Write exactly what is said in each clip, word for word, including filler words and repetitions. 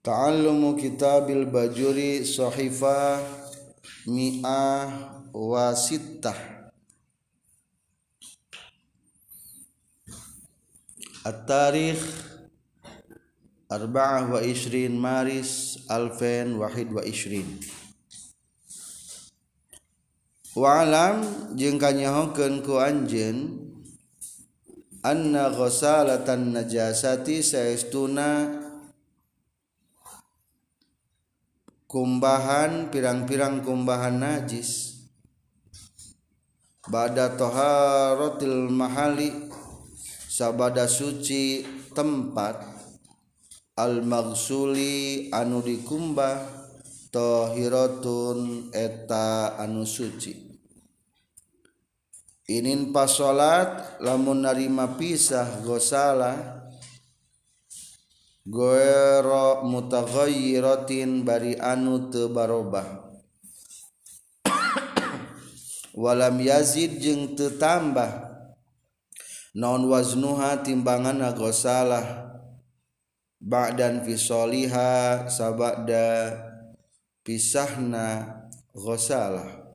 Ta'allumu kitabil bajuri sahifa mi'ah wa sittah. At-tarikh arba'ah wa ishrin Maris alfen wahid wa ishrin. Wa alam jeung kanyahokeun ku anjeun anna ghasalatan najasati saestuna kumbahan pirang-pirang kumbahan najis ba'da taharatil mahali sabada suci tempat al maghsuli anu dikumbah tahiratun eta anu suci. Inin pas salat lamun narima pisah gosala goero mutaghayyiratin bari anu teu barobah walam yazid jeung teu tambah naon waznuha timbanganna gosalah ba'dan fisoliha sabada pisahna gosalah.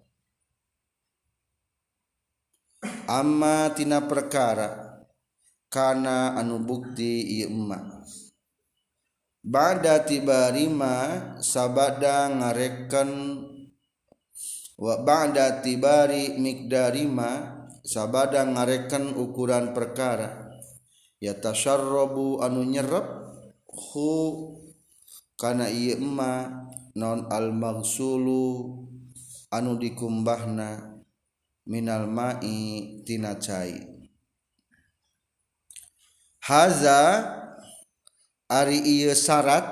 Amma tina perkara kana anu bukti ieu emma ba'da tibarima sabada ngareken wa ba'da tibari miqdarima sabada ngareken ukuran perkara ya tasyarrabu anu nyerep hu kana ieu emma non al maghsulu anu dikumbahna minal ma'i tina cai. Haza ari ieu syarat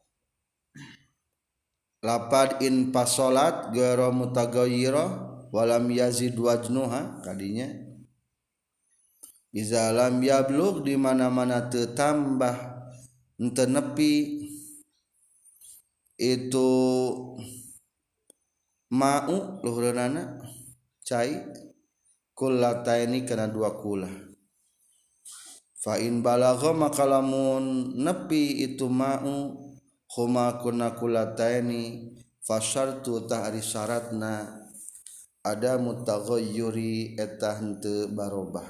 lapad in pasolat gero mutaghayyira walam yazid wajnuha kadinya iza lam yablugh di mana-mana teu tambah henteu nepi itu ma'u luhureunana cai kullataini kana dua kula fa in balagha maka lamun nepi itu ma'u huma kunna kullataini fa syartu tahri syaratna ada mutaghayyuri eta henteu barobah.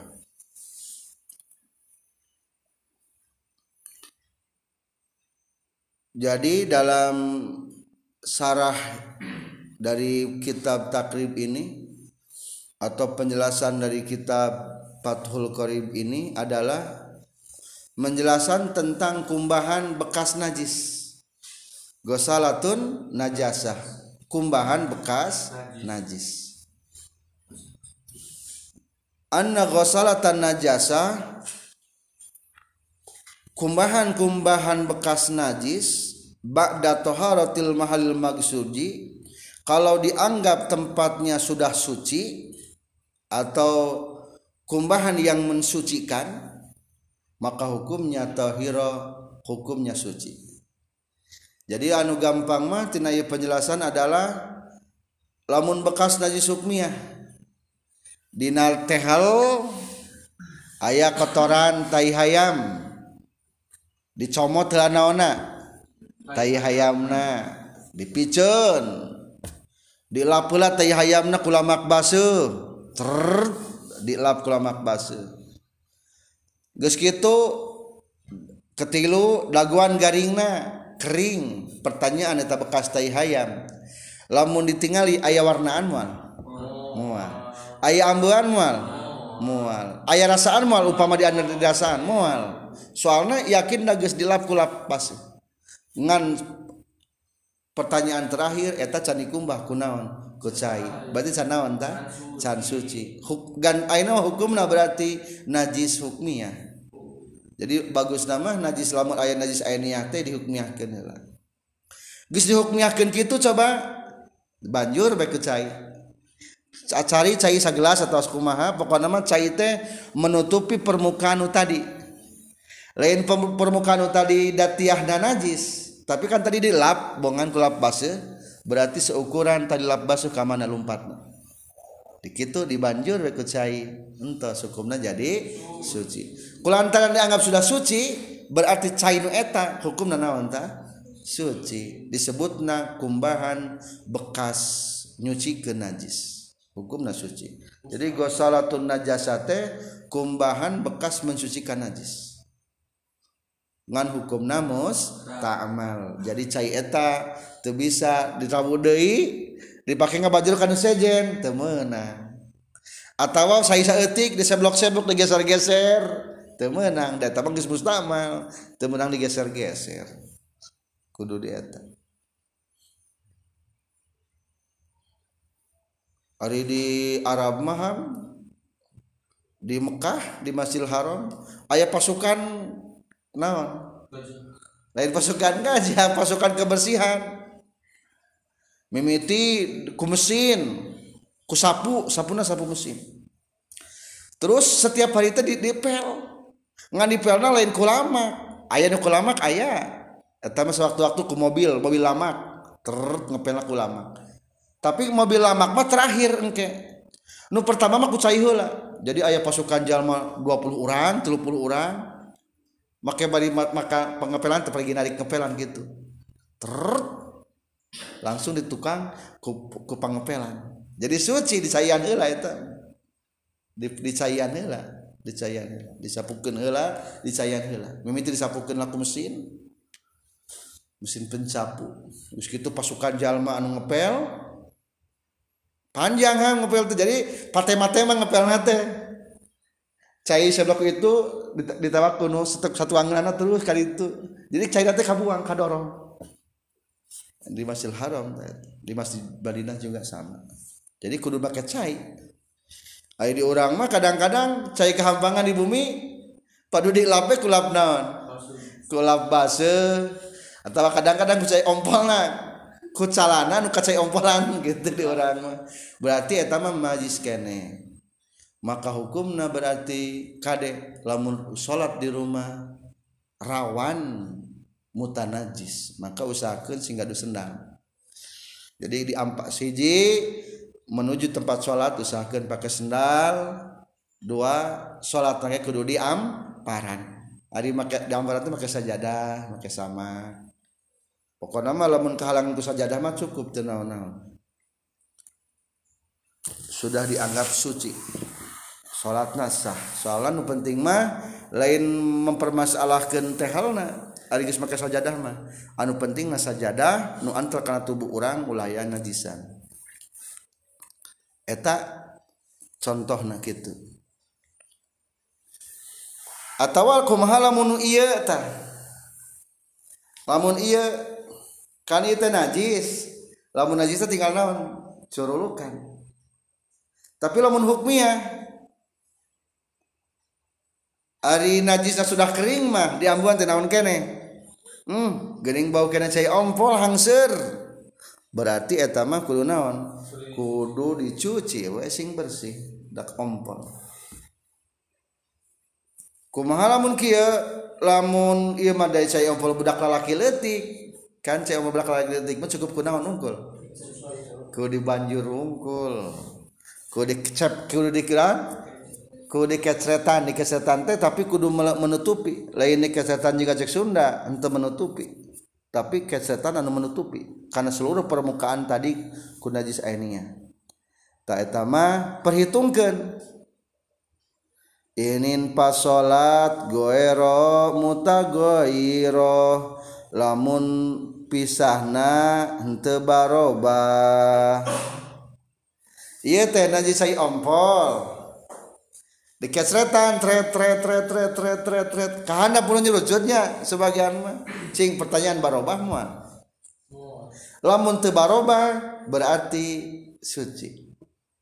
Jadi dalam sarah dari kitab takrib ini atau penjelasan dari kitab Fathul Qarib ini adalah menjelaskan tentang kumbahan bekas najis. Ghasalatun najasah, kumbahan bekas najis. Anna ghasalatan najasah, kumbahan-kumbahan bekas najis ba'da taharatil mahal maghsuji, kalau dianggap tempatnya sudah suci atau kumbahan yang mensucikan maka hukumnya tahira, hukumnya suci. Jadi anu gampang mah tina ieu penjelasan adalah lamun bekas najis hukmiyah dina tehal aya kotoran tai hayam dicomot heula naonna tai hayamna dipiceun dilap heula tai hayamna ku lamak baseuh ter dilap ku lamak baseuh geus kitu ketilu daguan garingna kering. Pertanyaan eta bekas tai hayam lamun ditingali aya warnaan moal moal aya ambeuan moal moal aya rasaan moal upama di anu rasaan moal soalna yakin da geus dilap ku lap baseuh ngan pertanyaan terakhir eta can dikumbah kunaon ku cai berarti can naon tah can suci dan ayeuna hukumna berarti najis hukmiyah. Jadi bagus nama najis lamun aya najis ainiyah teh dihukmiyahkeun heula. Geus dihukmiyahkeun kitu coba banjur bae ku cai. Cari cai sagelas atau kumaha pokona mah cai teh menutupi permukaan nu tadi. Lain permukaan nu tadi datiahna najis, tapi kan tadi dilap bongan ku lap baseuh berarti seukuran tadi lap baseuh ka mana lompatna. Dikitu dibanjur we ku cai entos hukumna jadi suci. Kulantaran dianggap sudah suci berarti cai nu eta hukumna naon tah suci disebutna kumbahan bekas nyucikeun najis hukumna suci. Jadi ghasalatun najasate kumbahan bekas mensucikan najis ngan hukumna musta'mal. Jadi cai eta teu bisa dirawu deui dipake ngabajur kana sejen teu meunang atawa sai saeutik diseblok-seblok digeser-geser teu meunang da eta mah geus musta'mal teu meunang digeser-geser kudu di eta. Ari di Arab mah di Mekah di Masjidil Haram aya pasukan naon lain pasukan gajah pasukan kebersihan mimiti ku mesin ku sapu sapuna sapu mesin terus setiap hari teh dipel ngan dipelna lain ku lamak aya nu ku lamak aya eta mah sewaktu-waktu ku mobil mobil lamak ter ngepelna ku lamak tapi mobil lamak mah terakhir engke nu pertama mah ku cai heula. Jadi aya pasukan jalma dua puluh urang tiga puluh urang make bari maka pengepelan teh pergi narik ngepelan gitu ter langsung ditukang ku, ku pangepelan jadi suci dicaian heula eta di dicaian heula dicaian heula disapukeun heula dicaian heula mimiti disapukeun laku mesin mesin pencapu geus kitu pasukan jalma anu ngepel panjang hang ngepel teh jadi patema-tema ngepelna teh cai seblok itu ditawak kuno satu anggaranna terus kali itu jadi cai teh kabuang kadorong di Masjidil Haram di Masjid Madinah juga sama jadi kudu make cai aya di urang mah kadang-kadang cai kehampangan di bumi padu dilape ku lap naon ku lap baseuh atawa kadang-kadang ku cai ompolna ku calana nu kacai ompolan gitu di urang mah berarti eta mah najis keneh maka hukumna berarti kade lamun salat di rumah rawan mutanajis maka usahakeun sing gaduh sendang jadi di ampak siji menuju tempat salat usahakeun pakai sendal dua salat tangge kudu di amparan ari make di amparan teh make sajadah make sama pokokna mah lamun kahalangan ku sajadah mah cukup teu naon-naon sudah dianggap suci salatna sah soalna nu penting mah lain mempermasalahkeun teh halna ari geus make sajadah mah anu penting mah sajadah nu antel kana tubuh urang ulah aya najisan eta contohna kitu atawa kumaha lamun ieu tah lamun ieu kan ieu teh najis lamun najis teh tinggal naon curulukan tapi lamun hukmiyah ari najisna sudah kering mah diambuan teh naon keneh hmm geuning bau keneh cai ompol hangseur berarti eta mah kudu naon kudu dicuci we sing bersih dak ompol kumaha lamun kieu lamun ieu mah da cai ompol budak lalaki leutik kan cai ompol budak lalaki leutik mah cukup kunaon unggul kudu dibanjur unggul kudu dicep kudu dikiran kudu dikecretan dikecretan teh tapi kudu menutupi lain dikecretan juga cek Sunda henteu menutupi tapi kecretan anu menutupi karena seluruh permukaan tadi ku najis ainiyah ta eta mah perhitungkeun inin pas salat goero mutagoiro lamun pisahna henteu barobah ieu teh najis ai ompol dikecretan tret tret tret tret tret tret tret kahana pun nyelujutnya sebagian mah cing pertanyaan barobah mah lamun teu barobah berarti suci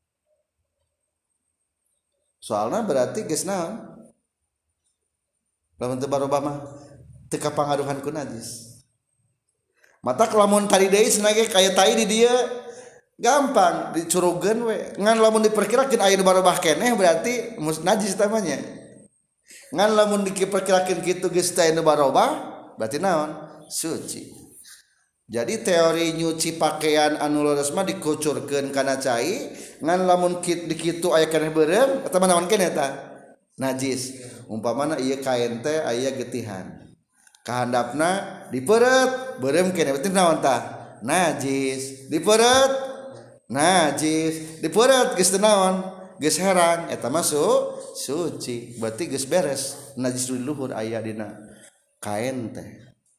soalna berarti geus naon lamun teu barobah mah teu kapangaruhan ku najis mata lamun tadi deui senage kaya tai di dieu gampang dicurugeun we ngan lamun diperkirakeun aya nu barobah keneh berarti najis tamanya ngan lamun diperkirakeun kitu geus teh nu barobah berarti naon suci jadi teori nyuci pakaian anu leres mah dikucurkeun kana cai ngan lamun di kitu aya keneh beureum eta mah naon keneh eta najis umpamana ieu kain teh aya getihan kahandapna diperet berem kene berarti naon tah najis diperet najis diperet geus teu naon geus herang eta mah suci berarti geus beres najis di luhur aya dina kain teh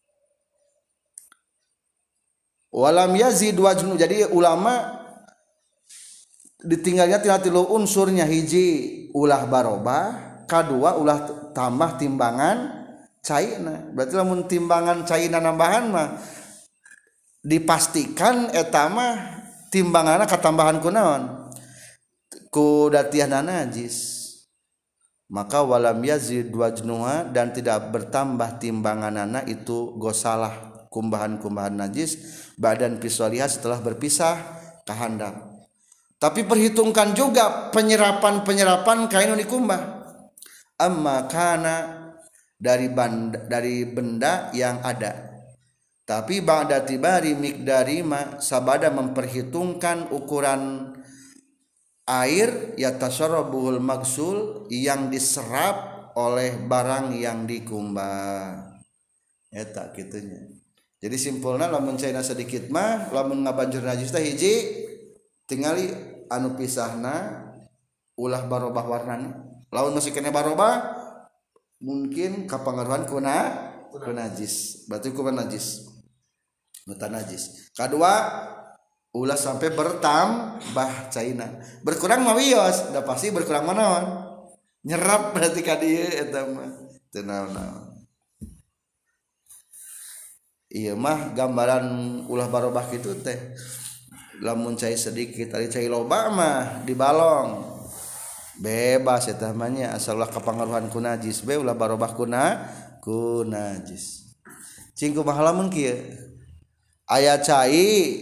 walam yazid wajnu jadi ulama ditinggalnya tina tilu unsurnya hiji ulah barobah kadua ulah tambah timbangan caina berarti lamun timbangan caina nambahan mah dipastikan eta mah timbanganna katambahan kunaon ku datiahna najis maka walam yazid wajnuha dan tidak bertambah timbanganana itu gosalah kumbahan-kumbahan najis badan piswaliha setelah berpisah kahandap tapi perhitungkan juga penyerapan-penyerapan kain dikumbah amma kana dari benda, dari benda yang ada tapi ba'da tibari miqdari ma sabada memperhitungkan ukuran air yatasarrabuhul magsul yang diserap oleh barang yang dikumbah eta kitunya jadi simpulna lamun caina sedikit mah lamun ngabanjur najis teh hiji tingali anu pisahna ulah barobah warnana lamun masih kena barobah mungkin kapangaruhan kuna kuna najis berarti kuna najis mutan najis kadua ulah sampai bertambah caina berkurang mah wios da pasti berkurang manaon nyerap berarti ka dieu eta mah teu naon-naon ieu mah gambaran ulah barobah kitu teh lamun cai sedikit ari cai loba mah dibalong bebas eta mah nya asal ulah kapangaruhan ku najis be ulah barobah kuna ku najis cing kumaha lamun kieu aya cai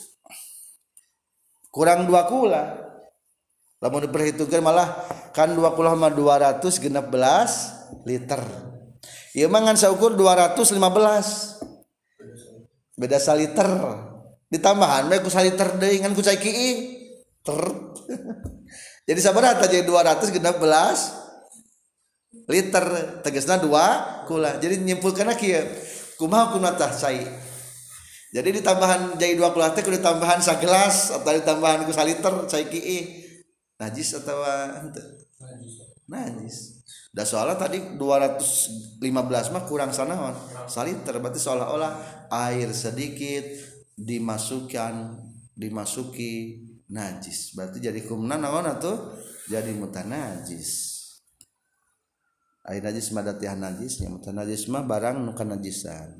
kurang dua kula lamun diperhitungkeun malah kan dua kula mah dua ratus genep belas liter ieu mah ngan saukur dua ratus lima belas beda saliter ditambahan bae ku saliter deui ngan ku cai kieu ter jadi sabaraha jadi dua ratus genep belas liter tegasna dua kula jadi nyimpulkeunna kieu kumaha kuna tah cai jadi ditambahan jadi dua kula teh kudu ditambahan sagelas atau ditambahan ku saliter cai kieu najis atawa henteu najis da soalna tadi dua ratus lima belas mah kurang sanaon saliter berarti seolah-olah air sedikit dimasukkan dimasuki najis berarti jadi kumna naon atuh jadi mutanajis air najis mah datihan najisnya mutanajis mah barang nu kanajisan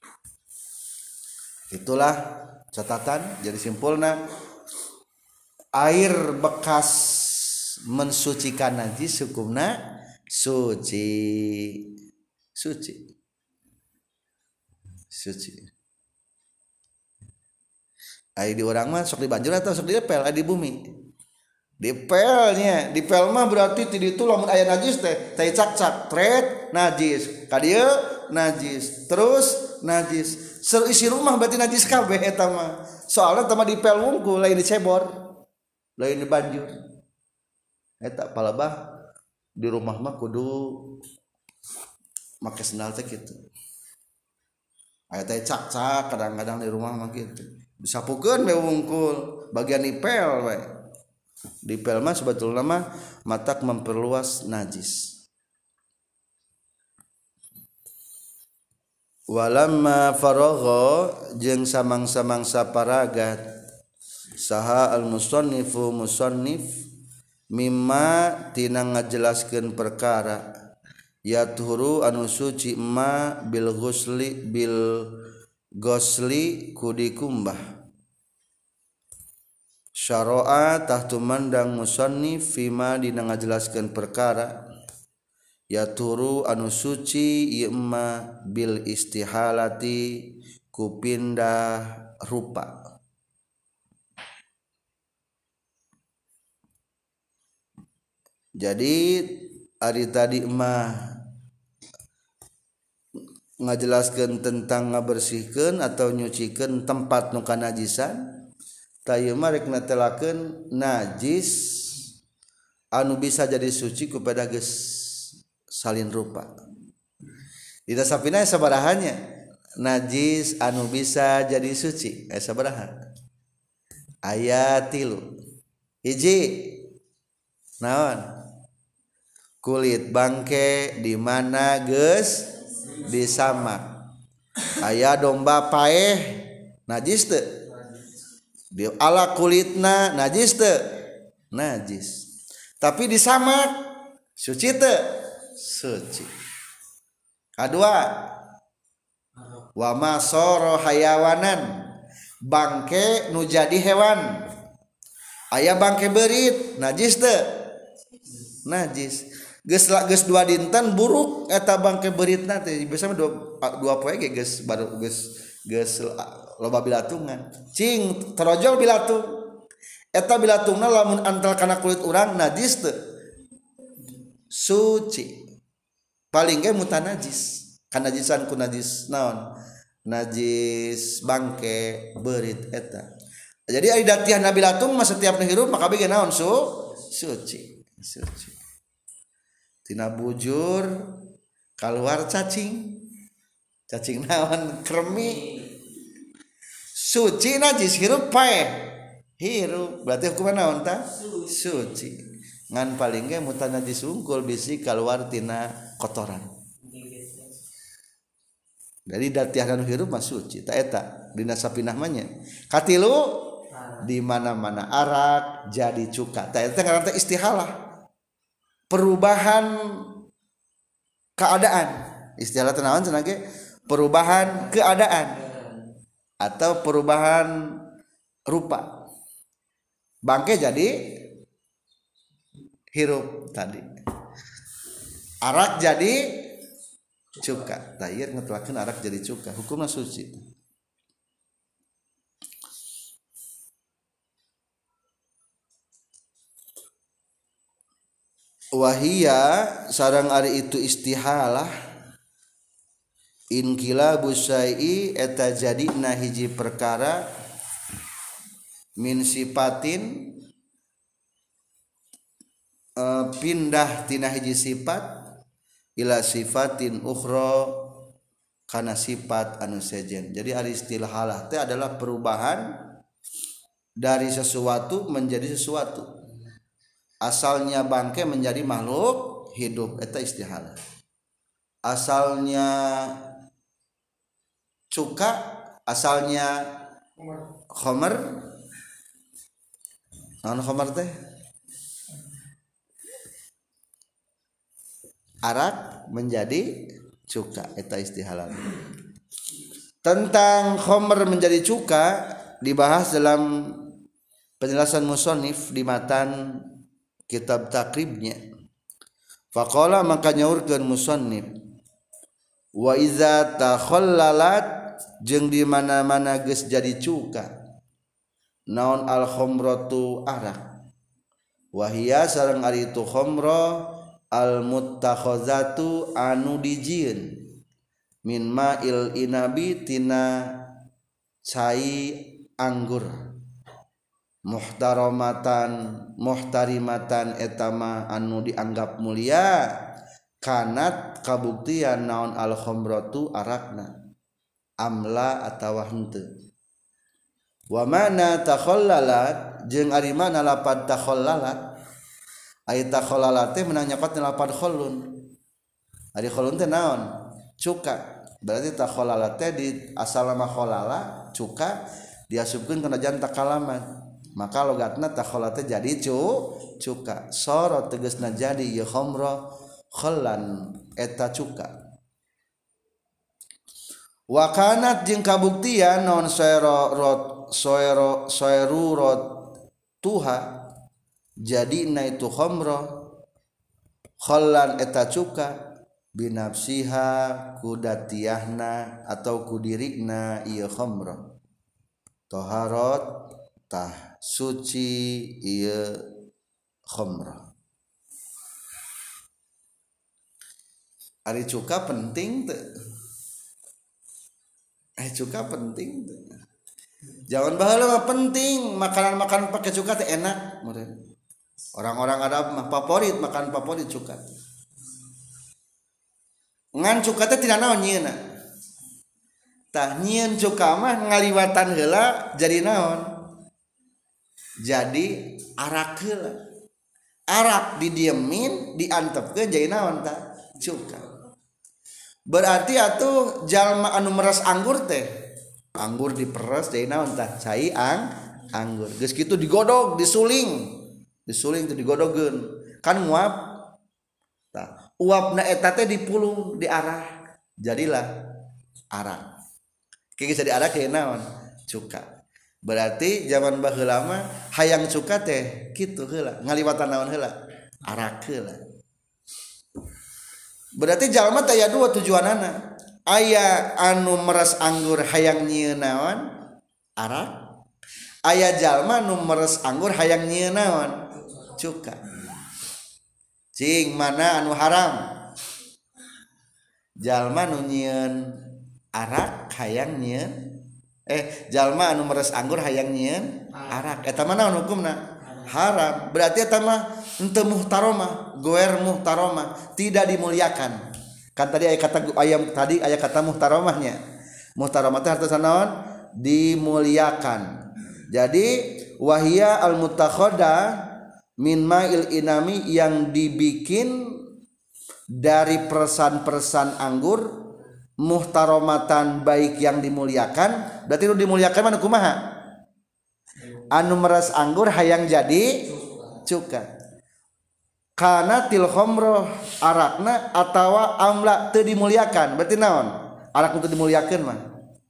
itulah catatan jadi simpulna air bekas mensucikan najis hukumna suci suci suci ai di orang mah sok dibanjur atau sok dipel ai di bumi dipelnya dipel mah berarti ti ditu lamun aya najis teh teh cak-cak tret najis ka dieu najis terus najis seisi rumah berarti najis kabeh eta mah soalna teh mah dipel wungkul lain dicebor lain dibanjur eta palebah di rumah mah kudu make sendal teh kitu aya teh cak-cak kadang-kadang di rumah mah kitu disapukeun we wungkul bagian dipel we dipel mah sebetulna mah matak memperluas najis walamma faragha jeung samang-samangsa paragat saha al musannifu musannif mimma tina ngajelaskeun perkara yathuru anu suci ma bil ghusli bil ghusli kudikumbah syara'a tahtu mandang musannif fima dina ngajelaskeun perkara yathuru anu suci ieu ma bil istihalati ku pindah rupa jadi ari tadi mah ngajelaskeun tentang ngabersihkeun atau nyucikeun tempat nu kanajisan tayeu mah rek netelakeun najis anu bisa jadi suci kepada geus salin rupa dina sapina sabarahannya najis anu bisa jadi suci aya sabaraha aya tilu hiji naon kulit bangke di mana geus disamak aya domba paeh najis teu di ala kulitna najis teu najis tapi disamak suci teu suci kadua wa masoro hayawanan bangke nu jadi hewan aya bangke beurit najis teu najis geus geus dua dinten buruk eta bangke beuritna teh biasana dua dua poe ge geus baru geus geus loba bilatungan cing terojol bilatung eta bilatungna lamun antal kana kulit urang najis teu suci paling ge mutan najis kan najisan ku najis naon najis bangke beurit eta jadi ari datihan bilatung mah setiap hirup maka bege naon su suci suci tina bujur keluar cacing cacing naon kremi suci najis hirup paeh hirup berarti hukumna naon tah suci ngan paling ge mutan najis unggul bisi keluar tina kotoran dari datihan anu hirup mah suci ta eta dina sapinah mah nya katilu di mana-mana arak jadi cuka ta eta ngaranna istihalah perubahan keadaan istilah teh naon cenah ge perubahan keadaan atau perubahan rupa bangke jadi hirup tadi arak jadi cuka tayir ngetulakeun arak jadi cuka hukumna suci wahia sareng ari itu istihalah inqilabu syai'i eta jadina hiji perkara min sifatin uh, pindah tina hiji sifat ila sifatin ukhra kana sifat anu sejen jadi ari istihalah teh adalah perubahan dari sesuatu menjadi sesuatu asalnya bangke menjadi makhluk hidup eta istihalah asalnya cuka asalnya khamar naon khamar teh arak menjadi cuka eta istihalah tentang khamar menjadi cuka dibahas dalam penjelasan musannif di matan kitab takribnya faqala maka nyaurkeun musannif wa iza takhallalat jeung di mana-mana geus jadi cuka naon al khamratu arak wa hiya sareng ari itu khamra al muttakhazatu anu dijieun min ma'il inabi tina cai anggur muhtaramatan muhtarimatan etama anu dianggap mulia kanat kabuktian naon al khamratu arakna amla atawa henteu wa mana takhallalat jeung ari mana lapad takhallalat aya takhallalat teh meunang nyapat lapad khallun ari khallun teh naon cuka berarti takhallalat teh di asal nama khallala cuka diasupkeun kana jan takalaman maka logatna takhallalat teh jadi cu cuka sorot tegasna jadi ya khamra khallan eta cuka wa kanat jeung kabuktian non soero rot soero soeru rot tuha jadi na itu khamra khallan eta cuka binafsiha kudatiahna atau kudirikna ieu khamra taharat tah suci ieu khamra ari cuka penting teu eh cuka penting teu jangan baheula mah penting makanan-makanan pakai cuka teh enak meureun orang-orang Arab mah favorit makan favorit cuka ngan cuka teh tina naon nyieunna tah nyieun cuka mah ngaliwatan heula jadi naon jadi arak heula arak didiemin diantepkeun jadi naon tah cuka berarti atuh jalma anu meres anggur teh anggur diperes jadi naon tah cai ang anggur geus kitu digodog disuling disuling teh digodogkeun kan nguap tah uapna eta teh dipulung diarah jadilah arak kieu jadi arak kieu naon cuka berarti zaman baheula mah hayang cuka teh kitu heula ngaliwatan naon heula arak heula berarti jalma teh aya dua tujuanana aya anu meres anggur hayang nyieun naon arak aya jalma nu meres anggur hayang nyieun naon cuka cing mana anu haram jalma nu nyieun arak hayang nyieun eh jalma anu meres anggur hayang nyieun arak eta mah naon hukumna haram berarti eta mah henteu muhtaromah goer muhtaromah tidak dimuliakan kan tadi aya kata ayam tadi aya kata muhtaromahnya muhtaromah teh artinya naon dimuliakan jadi wahia al mutakhoda min ma'il inami yang dibikin dari persan-persan anggur muhtaromatan baik yang dimuliakan berarti nu dimuliakan mana kumaha anu meres anggur hayang jadi cuka kana til khamrah arakna atawa amla teu dimuliakan berarti naon arak teu dimuliakeun mah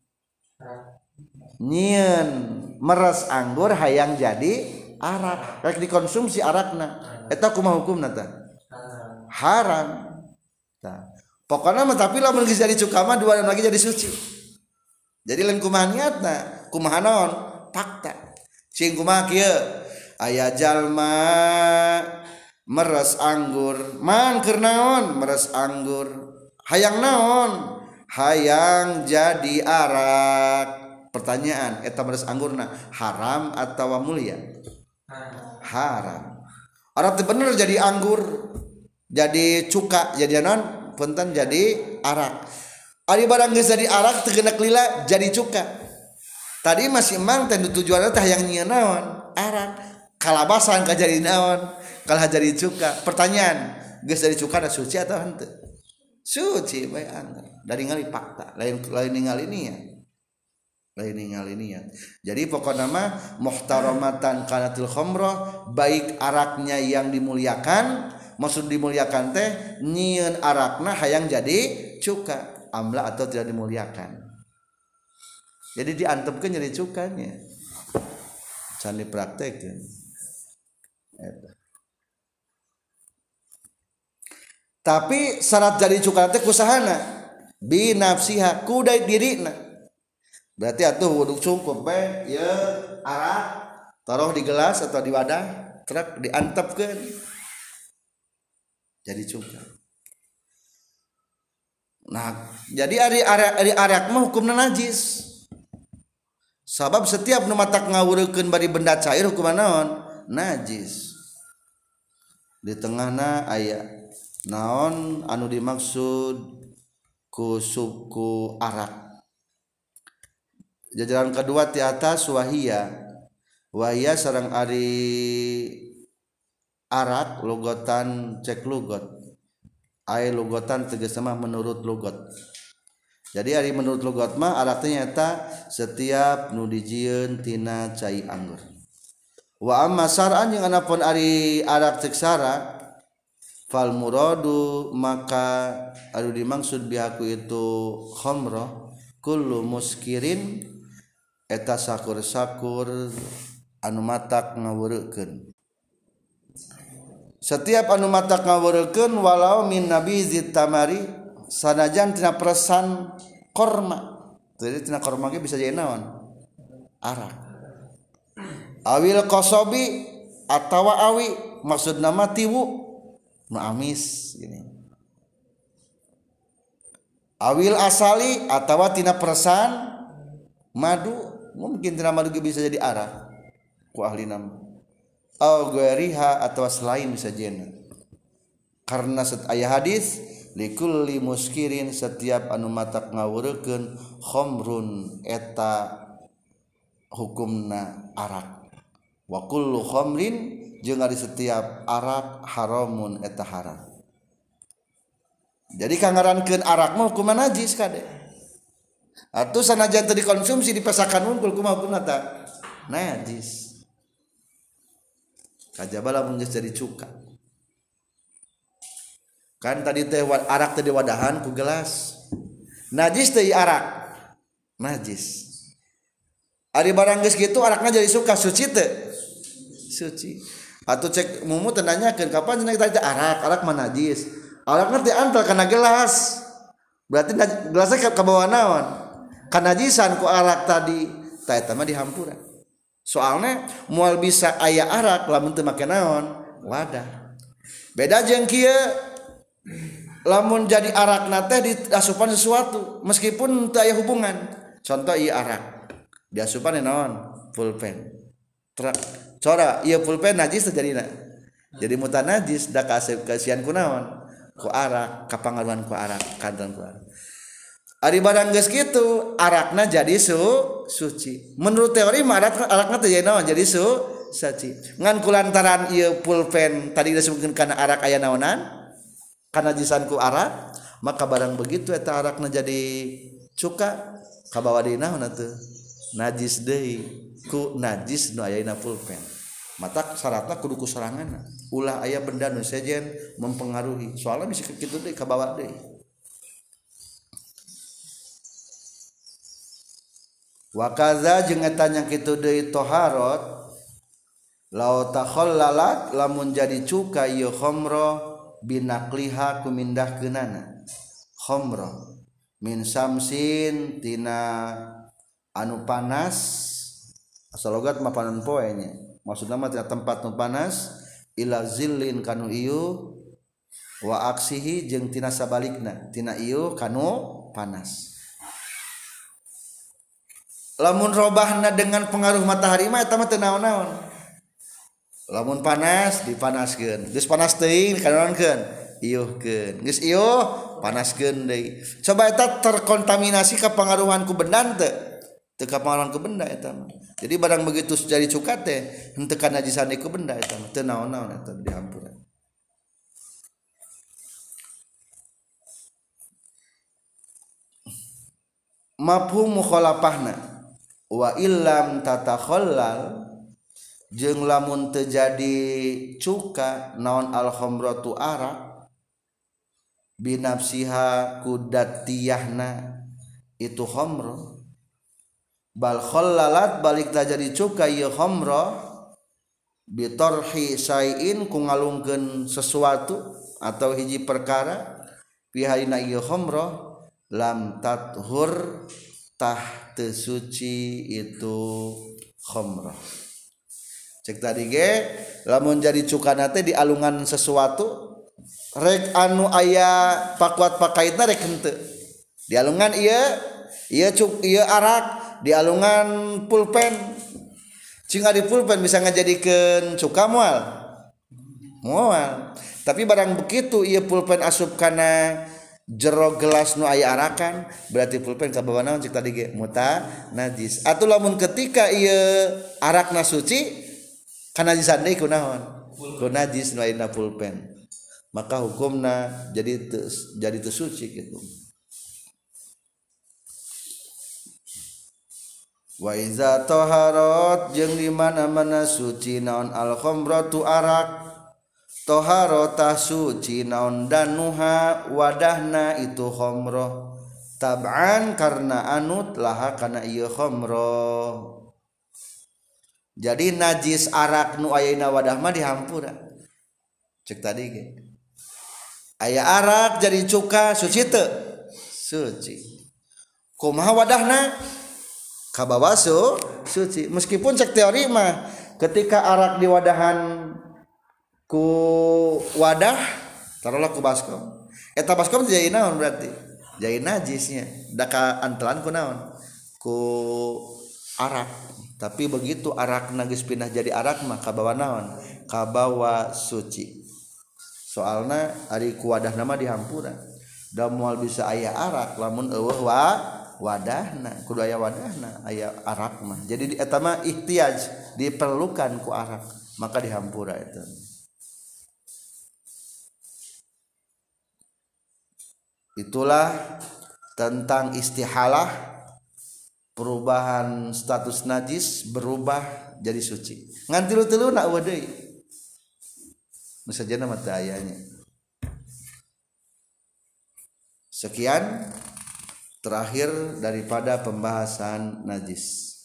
nyieun meres anggur hayang jadi arak rek dikonsumsi arakna eta kumaha hukumna tah haram tah pokona mah tapi lamun geus jadi cuka mah dua lagi jadi suci jadi lain kumaha niatna kumaha naon fakta cing kumaha kieu aya jalma meres anggur man keur naon meres anggur hayang naon hayang jadi arak pertanyaan eta meres anggurna haram atawa mulia haram arab teh bener jadi anggur jadi cuka jadi naon punten jadi arak ari barang geus jadi arak teu geuna lila jadi cuka tadi masih emang teh tujuanna teh hayang nyieun naon arak kalabasan ka jadi naon kalah jadi cuka pertanyaan geus dari cuka ada suci atau henteu suci bae anggar dari ngali fakta lain lain ningali niat lain ningali niat jadi pokokna mah muhtaramatan kanatil khamrah baik araknya yang dimuliakan maksud dimuliakan teh nyieun arakna hayang jadi cuka amla atau tidak dimuliakan jadi diantepkeun jadi cukanya can dipraktekkeun eta tapi syarat jadi cuka teh kusahana bi nafsiha ku dai dirina berarti atuh wuduk cukup bae ye arak taruh di gelas atau di wadah trek diantepkeun jadi cuka nah jadi ari arak ari arak mah hukumna najis sabab setiap nu matak ngawureukeun bari benda cair hukumna naon najis di tengahna aya naon anu dimaksud ku suku arak jajaran kedua ti atas wahia wahia sareng ari arak logotan cek lugot ai logotan tegas mah menurut lugot jadi ari menurut lugot mah arak teh nyata setiap nu dijieun tina cai anggur wa amma sar'an yang anapun ari arak cek sara fal muradu maka anu dimaksud bihaku itu khamrah kullu muskirin eta sakur-sakur anu matak ngawureukeun setiap anu matak ngawureukeun walau min nabizit tamari sanajan tina persan korma jadi tina korma ge bisa jadi naon arak awil qasabi atawa awi maksudna mah tiwu nu amis gini awil asali atawa tina persan madu mungkin tina madu bisa jadi arak ku ahli nama au ghairiha atawa selain bisa jena karena set aya hadis likulli muskirin setiap anu matak ngawurekeun khamrun eta hukumna arak wa kullu khamrin jeung ari setiap arak haramun eta haram. Jadi kangarankeun arak mah hukumna najis kade. Atuh sanajan teu dikonsumsi dipesakan unggul kumaha hukumna ta? Najis. Kajaba lamun geus jadi cuka. Kan tadi teh arak teh diwadahan ku gelas. Najis teh arak. Najis. Ari barang geus kitu arakna jadi suka suci teh? Suci. Atuh cek mumu teh nanyakeun kapan cenah kita arak, arak mah najis. Arakna teh antal kana gelas. Berarti gelasnya ka bawah naon? Kanajisan ku arak tadi. Tah eta mah dihampura. Soalnya moal bisa aya arak lamun teu make naon? Wadah. Beda jeung kieu lamun jadi arakna teh diasupan sesuatu meskipun teu aya hubungan. Contoh ieu arak. Diasupan naon? Pulpen. Trak cora ieu pulpen najis teh jadina. Jadi mutan najis da kasihan ku naon? Ku arak, kapangaruhan ku arak, kanton ku arak. Ari barang geus kitu, arakna jadi su suci. Menurut teori mah arak arakna teh jadi naon? Jadi su suci. Ngan kulantaran ieu pulpen tadi disebutkeun kana arak aya naonan? Kana najisan ku arak, maka barang begitu eta arakna jadi cuka kabawa deui naon atuh? Najis deui ku najis nu aya dina pulpen. Mata syaratna kudu kusoranganna. Ulah aya benda nu sejen mempengaruhi. Soalna bisa kitu deui kabawa deui. Wa kadza jeung eta nya kitu deui taharat law takhallalat lamun jadi cuka ieu khamra binaqliha kumindahkeunana khamra min samsin tina anu panas asal logat mah panon poe nya maksudna mah tina tempat nu panas ila zillin kanu ieu wa aksihi jeung tina sabalikna tina ieu kanu panas. Lamun robahna dengan pengaruh matahari mah eta mah teu naon-naon. Lamun panas dipanaskeun, geus panas teuing dikanaonkeun, ieuhkeun. Geus ieuh panaskeun deui. Coba eta terkontaminasi kapangaruhan ku benda teu? Teu kapangaruhan ku benda eta mah. Jadi barang begitu jadi cuka teh henteu kana najisan ku benda eta mah, teu naon-naon eta dihampura. Mafhum mukhalafahna wa illam tatakhallal jeung lamun teu jadi cuka naon al khamratu arak binafsiha kudatiyahna itu khamra bal khallalat balik ta jadi cuka ieu khamra bitarhi sayin ku ngalungkeun sesuatu atau hiji perkara pihaina ieu khamra lam tathur tah teu suci itu khamrah. Cek tadi ge lamun jadi cukana teh di alungan sesuatu rek anu aya pakuat pakaitna rek henteu. Di alungan ieu ieu cuk ieu arak di alungan pulpen. Cing di pulpen bisa ngajadikeun cuka moal. Moal. Tapi barang begitu ieu pulpen asup kana jero gelas nu aya arakan berarti pulpen ka bawah naon cik tadi ge muta najis atuh lamun ketika ieu arakna suci kana najisan deui kunaon ku najis nu aya dina pulpen maka hukumna jadi te, jadi teu suci kitu. Wa iza taharat jeung di mana-mana suci naon al khamratu arak toharotah suci naon danuha wadahna itu khamrah tab'an karena anut laha kana ieu khamrah. Jadi najis arak nu aya dina wadah mah dihampura. Cek tadi ge. Aya arak jadi cuka suci teu? Suci. Kumaha wadahna? Kabawa su suci. Meskipun cek teori mah ketika arak di wadahan ku wadah taruhlah ku baskom eta baskom jadi naon berarti jadi najisnya da ka antelan ku naon ku arak tapi begitu arak geus pindah jadi arak mah kabawa naon kabawa suci soalna ari ku wadah nama dihampura da moal bisa aya arak lamun eueuh wa wadahna kudu aya wadahna aya arak mah jadi eta mah ihtiyaj diperlukan ku arak maka dihampura itu itulah tentang istihalah perubahan status najis berubah jadi suci ngan tilu-tiluna eueuh deui nu sajana mah teu ayanya. Sekian terakhir daripada pembahasan najis.